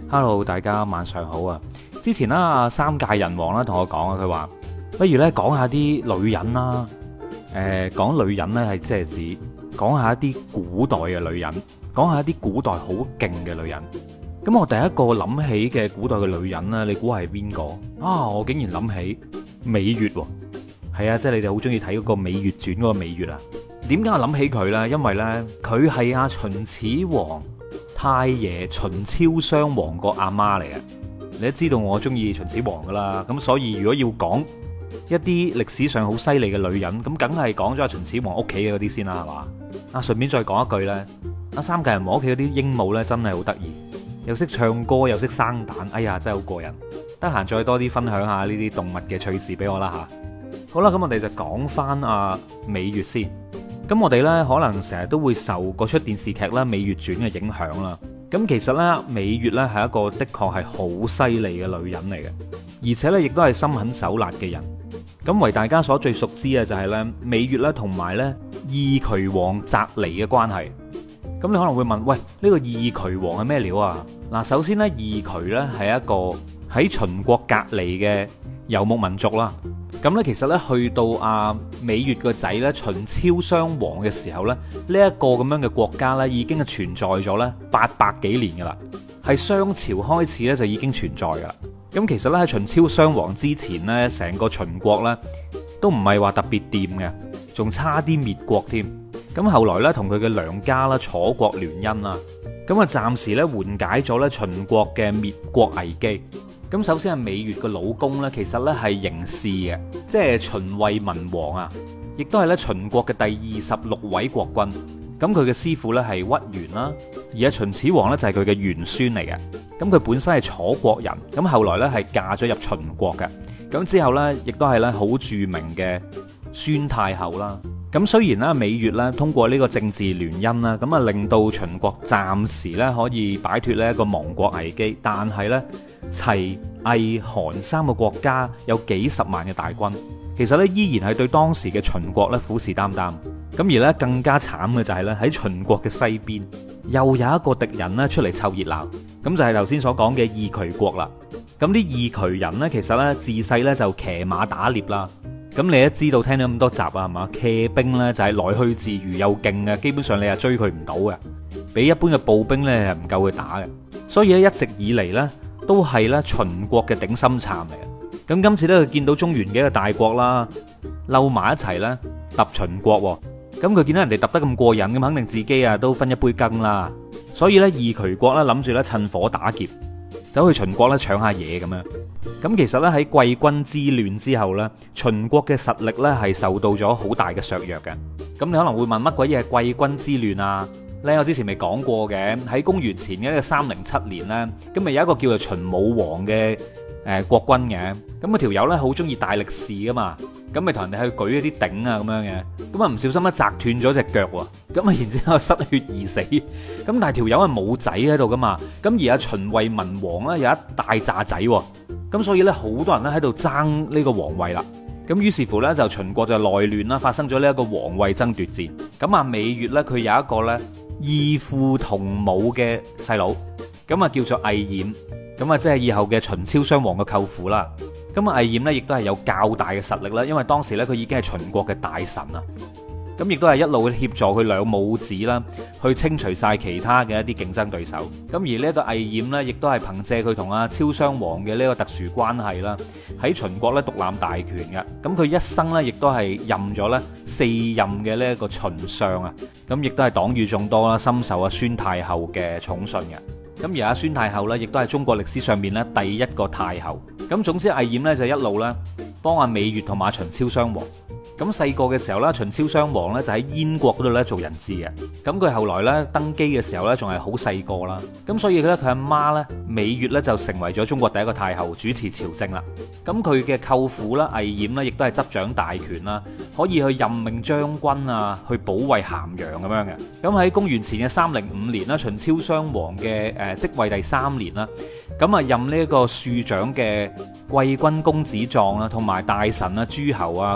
Hello，大家晚上好啊！之前啦，三界人王啦同我講啊，佢話不如咧講下啲女人啦。講女人呢係即係指講下一啲古代嘅女人，講下一啲古代好勁嘅女人。咁我第一個諗起嘅古代嘅女人呢，你估係邊個啊？我竟然諗起羋月喎。係啊，即係你哋好中意睇嗰個《羋月傳》嗰個羋月啊。點解我諗起佢呢？因為呢，佢係阿秦始皇太爺秦昭襄王個阿媽嚟嘅。你都知道我中意秦始皇噶啦，咁所以如果要講一啲歷史上好犀利嘅女人，咁梗係講咗阿秦始皇屋企嘅嗰啲先啦，係嘛？啊，順便再講一句呢，阿三界人王屋企嗰啲鸚鵡呢，真係好得意，又識唱歌又識生蛋，哎呀，真係好過癮。得閒再多啲分享下呢啲動物嘅趣事俾我啦吓。好啦，咁我哋就講翻阿羋月先。咁我哋呢，可能成日都會受嗰出電視劇啦《羋月傳》嘅影響啦。咁其實呢，羋月呢係一個的確係好犀利嘅女人嚟嘅，而且呢亦都係心狠手辣嘅人。咁為大家所最熟知嘅就係呢羋月呢同埋呢義渠王翟驪嘅關係。咁你可能會問，喂，呢個義渠王係咩料啊？嗱，首先呢，義渠呢係一個喺秦國隔離嘅游牧民族啦。咁咧，其實咧去到阿羋月個仔咧秦昭襄王嘅時候咧，呢一個咁樣嘅國家咧已經係存在咗咧800幾年噶啦，係商朝開始咧就已經存在噶啦。咁其實咧喺秦昭襄王之前咧，成個秦國咧都唔係話特別掂嘅，仲差啲滅國添。咁後來咧同佢嘅娘家啦楚國聯姻啦，咁啊暫時咧緩解咗咧秦國嘅滅國危機。咁首先係羋月嘅老公呢，其實呢係嬴氏嘅，即係秦惠文王啊，亦都係咧秦國嘅第26位國君。咁佢嘅師傅呢係屈原啦，而阿秦始皇呢就係佢嘅玄孫嚟嘅。咁佢本身係楚國人，咁後來呢係嫁咗入秦國嘅。咁之後呢，亦都係咧好著名嘅孫太后啦。咁雖然咧羋月咧通過呢個政治聯姻啦，咁啊令到秦國暫時咧可以擺脫呢一個亡國危機，但係咧齊魏韓三個國家有幾十萬嘅大軍，其實咧依然係對當時嘅秦國咧虎視眈眈。咁而咧更加慘嘅就係咧喺秦國嘅西邊又有一個敵人咧出嚟湊熱鬧，咁就係頭先所講嘅義渠國啦。咁啲義渠人呢，其實咧自細咧就騎馬打獵啦。咁你都知道，聽咗咁多集啊，係嘛？騎兵呢就係來去自如又勁嘅，基本上你係追佢唔到嘅，比一般嘅步兵呢係唔夠佢打嘅。所以咧一直以嚟呢都係咧秦國嘅頂心杉嚟嘅。咁今次呢，佢見到中原嘅一個大國啦，嬲埋一齊呢揼秦國。咁佢見到人哋揼得咁過癮，咁肯定自己啊都分一杯羹啦。所以呢，義渠國呢諗住咧趁火打劫，走去秦國咧搶下嘢咁樣。咁其實咧喺季君之亂之後咧，秦國嘅實力咧係受到咗好大嘅削弱嘅。咁你可能會問，乜鬼嘢係季君之亂啊？咧我之前未講過嘅，喺公元前嘅307年咧，咁咪有一個叫做秦武王嘅國君嘅。咁個條友咧好中意大力士噶嘛，咁咪同人哋去舉一啲鼎啊咁樣嘅。咁啊唔小心咧砸斷咗隻腳喎，咁啊然之後失血而死。咁但係條友係冇仔喺度噶嘛，咁而阿秦惠文王咧有一大紮仔喎。咁所以咧，好多人咧喺度爭呢個皇位啦。咁於是乎呢，就秦國就內亂啦，發生咗呢一個皇位爭奪戰。咁啊，羋月呢，佢有一個呢異父同母嘅細佬，咁啊叫做魏冉，咁啊即係以後嘅秦昭襄王嘅舅父啦。咁啊魏冉呢，亦都係有較大嘅實力啦，因為當時呢，佢已經係秦國嘅大臣啊。咁亦都係一路協助佢兩母子啦，去清除晒其他嘅一啲競爭對手。咁而呢一個魏冉呢，亦都係憑借佢同阿昭襄王嘅呢個特殊關係啦，喺秦國咧獨攬大權嘅。咁佢一生呢，亦都係任咗咧4任嘅呢一個秦相啊。咁亦都係黨羽眾多啦，深受阿孫太后嘅寵信嘅。咁而阿孫太后呢，亦都係中國歷史上面咧第一個太后。咁總之魏冉呢，就一路咧幫阿羋月同埋秦昭襄王。咁細個嘅時候咧，秦昭襄王咧就喺燕國嗰度咧做人質嘅。咁佢後來咧登基嘅時候咧，仲係好細個啦。咁所以咧佢阿媽咧羋月咧就成為咗中國第一個太后，主持朝政啦。咁佢嘅舅父啦魏冉咧，亦都係執掌大權啦，可以去任命將軍啊，去保衛咸陽咁樣嘅。咁喺公元前嘅305年啦，秦昭襄王嘅即位第3年啦，咁啊任呢一個庶長嘅季君公子壯啦，同埋大臣啊諸侯啊。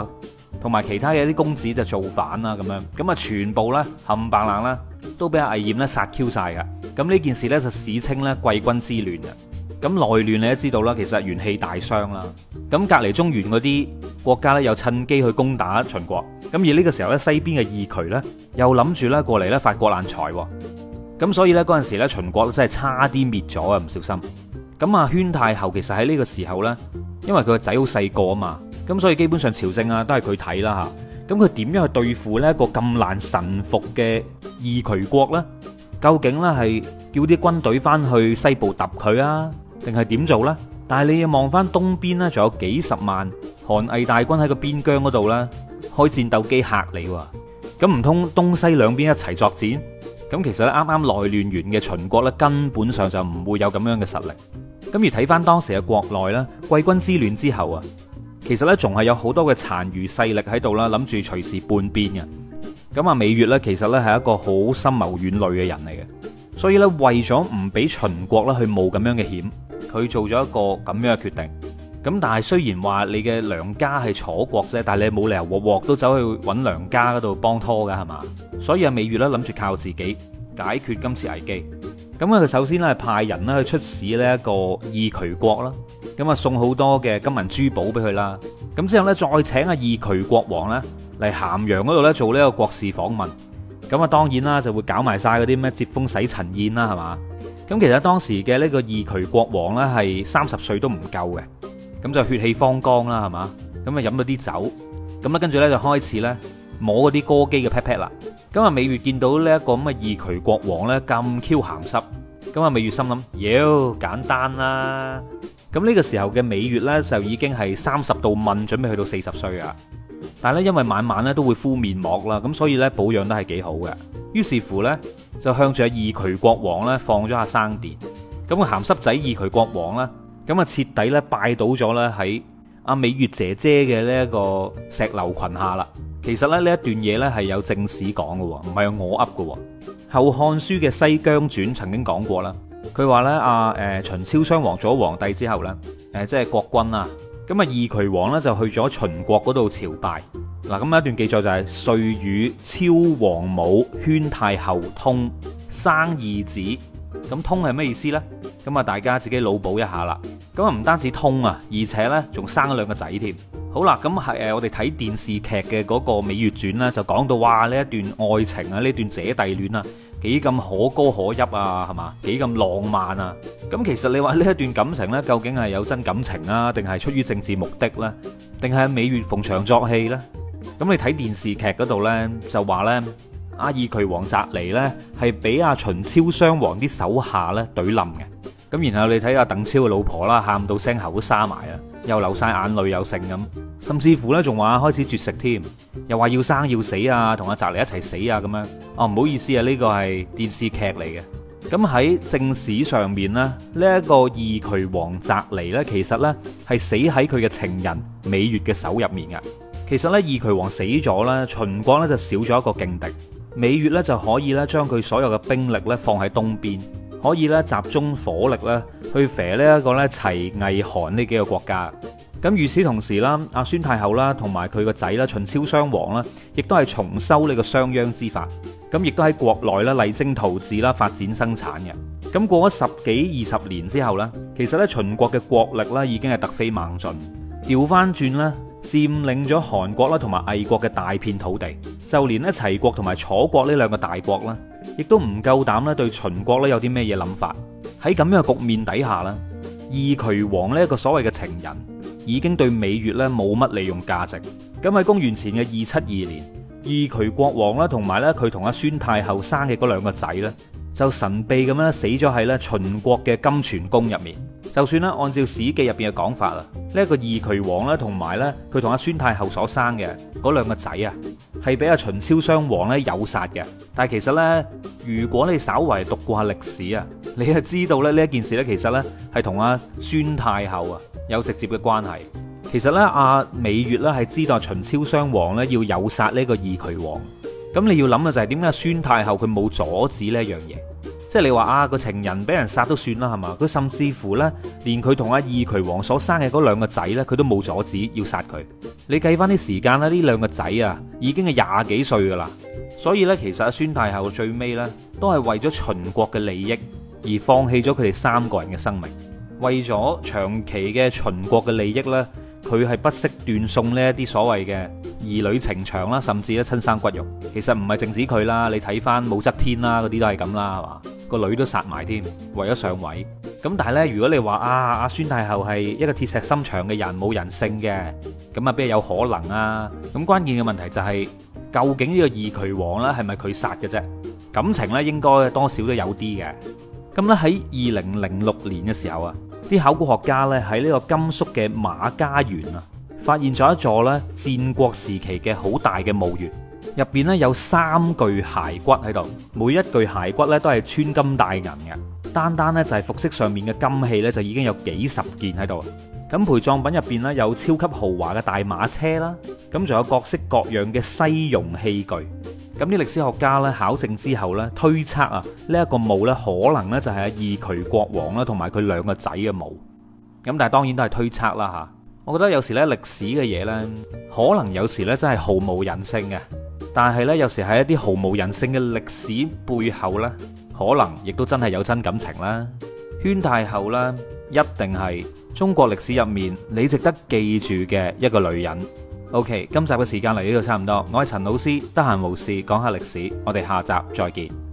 同埋其他嘅啲公子就造反啦咁樣，咁啊全部咧冚唪唥啦都俾阿魏冉咧殺 Q 晒噶。咁呢件事咧就史稱咧季軍之亂嘅。咁內亂你都知道啦，其實元氣大傷啦。咁隔離中原嗰啲國家咧又趁機去攻打秦國。咁而呢個時候咧西邊嘅義渠咧又諗住咧過嚟咧發國難財喎。咁所以咧嗰陣時咧秦國真係差啲滅咗啊，唔小心。咁啊宣太后其實喺呢個時候咧，因為佢個仔好細個啊嘛，咁所以基本上朝政啊都係佢睇啦嚇。咁佢點樣去對付呢一個咁難臣服嘅義渠國呢？究竟呢係叫啲軍隊翻去西部揼佢啊，定係點做呢？但係你要望翻東邊呢，仲有幾十萬韓魏大軍喺個邊疆嗰度呢，開戰鬥機嚇你喎。咁唔通東西兩邊一齊作戰？咁其實咧啱啱內亂完嘅秦國呢，根本上就唔會有咁樣嘅實力。咁而睇翻當時嘅國內呢，季軍之亂之後啊，其實呢仲係有好多嘅殘餘勢力喺度啦，諗住隨時叛變嘅。咁啊，羋月呢，其實呢係一個好深謀遠慮嘅人嚟嘅，所以呢，為咗唔俾秦國呢去冒咁樣嘅險，佢做咗一個咁樣嘅決定。咁但係雖然話你嘅娘家係楚國啫，但係你冇理由鑊鑊都走去揾娘家嗰度幫拖噶係嘛？所以啊，羋月呢諗住靠自己解決今次危機。咁啊，佢首先咧係派人咧去出使呢一個義渠國啦，咁啊送好多嘅金銀珠寶俾佢啦。咁之後咧再請阿義渠國王咧嚟咸陽嗰度咧做呢個國事訪問。咁啊當然啦，就會搞埋晒嗰啲咩接風洗塵宴啦，係嘛？咁其實當時嘅呢個義渠國王咧係30歲都唔夠嘅，咁就血氣方剛啦，係嘛？咁啊飲咗啲酒，咁咧跟住咧就開始咧摸嗰啲歌姬嘅 pat pat 啦。咁啊，羋月見到呢一個咁嘅義渠國王咧咁 Q 鹹濕，咁啊羋月心諗，妖簡單啦。咁呢個時候嘅羋月咧就已經係30度問，準備去到40歲啊。但係咧因為晚晚咧都會敷面膜啦，咁所以咧保養得係幾好嘅。於是乎咧就向住阿義渠國王咧放咗下生電。咁個鹹濕仔義渠國王咧，咁啊徹底咧拜倒咗咧喺阿羋月姐姐嘅呢一個石榴裙下啦。其實咧呢一段嘢咧係有正史講嘅，唔係我噏嘅。《後漢書》嘅《西羌傳》曾經講過啦，佢話咧秦昭襄王做咗皇帝之後咧，即係國君啊，咁啊義渠王咧就去咗秦國嗰度朝拜。嗱，咁一段記載就係遂與昭王母宣太后通，生二子。咁通係咩意思呢？咁啊大家自己腦補一下啦。咁啊唔單止通啊，而且咧仲生咗2個仔添。好啦，咁係我哋睇電視劇嘅嗰個《羋月傳》啦，就講到哇呢一段愛情啊，呢段姐弟戀啊，幾咁可歌可泣啊，係嘛？幾咁浪漫啊！咁其實你話呢一段感情呢，究竟係有真感情啊，定係出於政治目的呢？定係羋月逢場作戲呢？咁你睇電視劇嗰度呢，就話呢，阿義渠王翟驪呢係俾阿秦昭襄王啲手下呢懟冧嘅。咁然後你睇阿鄧超嘅老婆啦，喊到聲喉都沙埋啊，又流晒眼淚又剩咁，甚至乎呢仲話開始絕食添，又話要生要死啊，同阿翟驪一齊死啊咁樣。哦，唔好意思啊，呢個係電視劇嚟嘅。咁喺正史上面呢，呢一個義渠王翟驪呢，其實呢係死喺佢嘅情人羋月嘅手入面嘅。其實呢，義渠王死咗呢，秦國呢就少咗一個勁敵，羋月呢就可以呢將佢所有嘅兵力呢放喺東邊。可以咧集中火力咧去肥呢一個咧齊魏韓呢幾個國家。咁與此同時啦，阿宣太后啦同埋佢個仔啦秦昭襄王啦，亦都係重修呢個商鞅之法。咁亦都喺國內咧勵精圖治啦，發展生產嘅。咁過咗10幾20年之後呢，其實咧秦國嘅國力咧已經係突飛猛進，調翻轉咧佔領咗韓國啦同埋魏國嘅大片土地。就連咧齊國同埋楚國呢2個大國啦，亦都唔夠膽咧對秦國咧有啲咩嘢諗法。喺咁樣嘅局面底下咧，義渠王呢一個所謂嘅情人已經對羋月咧冇乜利用價值。咁喺公元前嘅272年，義渠國王啦同埋咧佢同阿宣太后生嘅嗰2個仔咧，就神秘咁樣死咗喺咧秦國嘅金泉宮入面。就算咧按照史記入邊嘅講法啊，呢一個義渠王咧同埋咧佢同阿宣太后所生嘅嗰2個仔啊，係俾阿秦昭襄王咧誘殺嘅。但係其實呢，如果你稍為讀過下歷史啊，你就知道咧呢一件事咧其實咧係同阿宣太后啊有直接嘅關係。其實咧阿羋月咧係知道秦昭襄王咧要誘殺呢個義渠王。咁你要諗嘅就係點解宣太后佢冇阻止呢一樣嘢？ 即係你話啊個情人俾人殺都算啦，係嘛？佢甚至乎呢，連佢同阿二渠王所生嘅嗰兩個仔呢，佢都冇阻止要殺佢。你計翻啲時間咧，呢兩個仔啊已經係廿幾歲噶啦。所以呢，其實阿孫太后最尾呢，都係為咗秦國嘅利益而放棄咗佢哋三個人嘅生命。為咗長期嘅秦國嘅利益呢，佢係不惜斷送呢一啲所謂嘅兒女情長啦，甚至咧親生骨肉。其實唔係淨止佢啦，你睇翻武則天啦，嗰啲都係咁啦，係嘛？個女都殺埋添，為咗上位。咁但係呢，如果你話阿孫太后係一個鐵石心腸嘅人，冇人性嘅，咁啊邊有可能啊？咁關鍵嘅問題就係，究竟呢個二渠王呢係咪佢殺嘅啫？感情呢應該多少都有啲嘅。咁咧喺2006年嘅時候啊，啲考古學家呢喺呢個甘肅嘅馬家園啊，發現咗一座呢戰國時期嘅好大嘅墓穴。入邊咧有3具骸骨喺度，每一具骸骨咧都係穿金戴銀嘅，單單咧就係服飾上面嘅金器咧就已經有幾十件喺度。咁陪葬品入邊咧有超級豪華嘅大馬車啦，咁仲有各式各樣嘅西戎器具。咁啲歷史學家咧考證之後咧推測啊，呢一個墓咧可能咧就係阿二渠國王啦同埋佢兩個仔嘅墓。咁但係當然都係推測啦吓。我覺得有時咧歷史嘅嘢咧，可能有時咧真係毫無人性嘅。但係咧，有時喺一啲毫無人性嘅歷史背後呢，可能亦都真係有真感情啦。宣太后呢，一定係中國歷史入面你值得記住嘅一個女人。OK，今集嘅時間嚟呢度差唔多，我係陳老師，得閒無事講下歷史，我哋下集再見。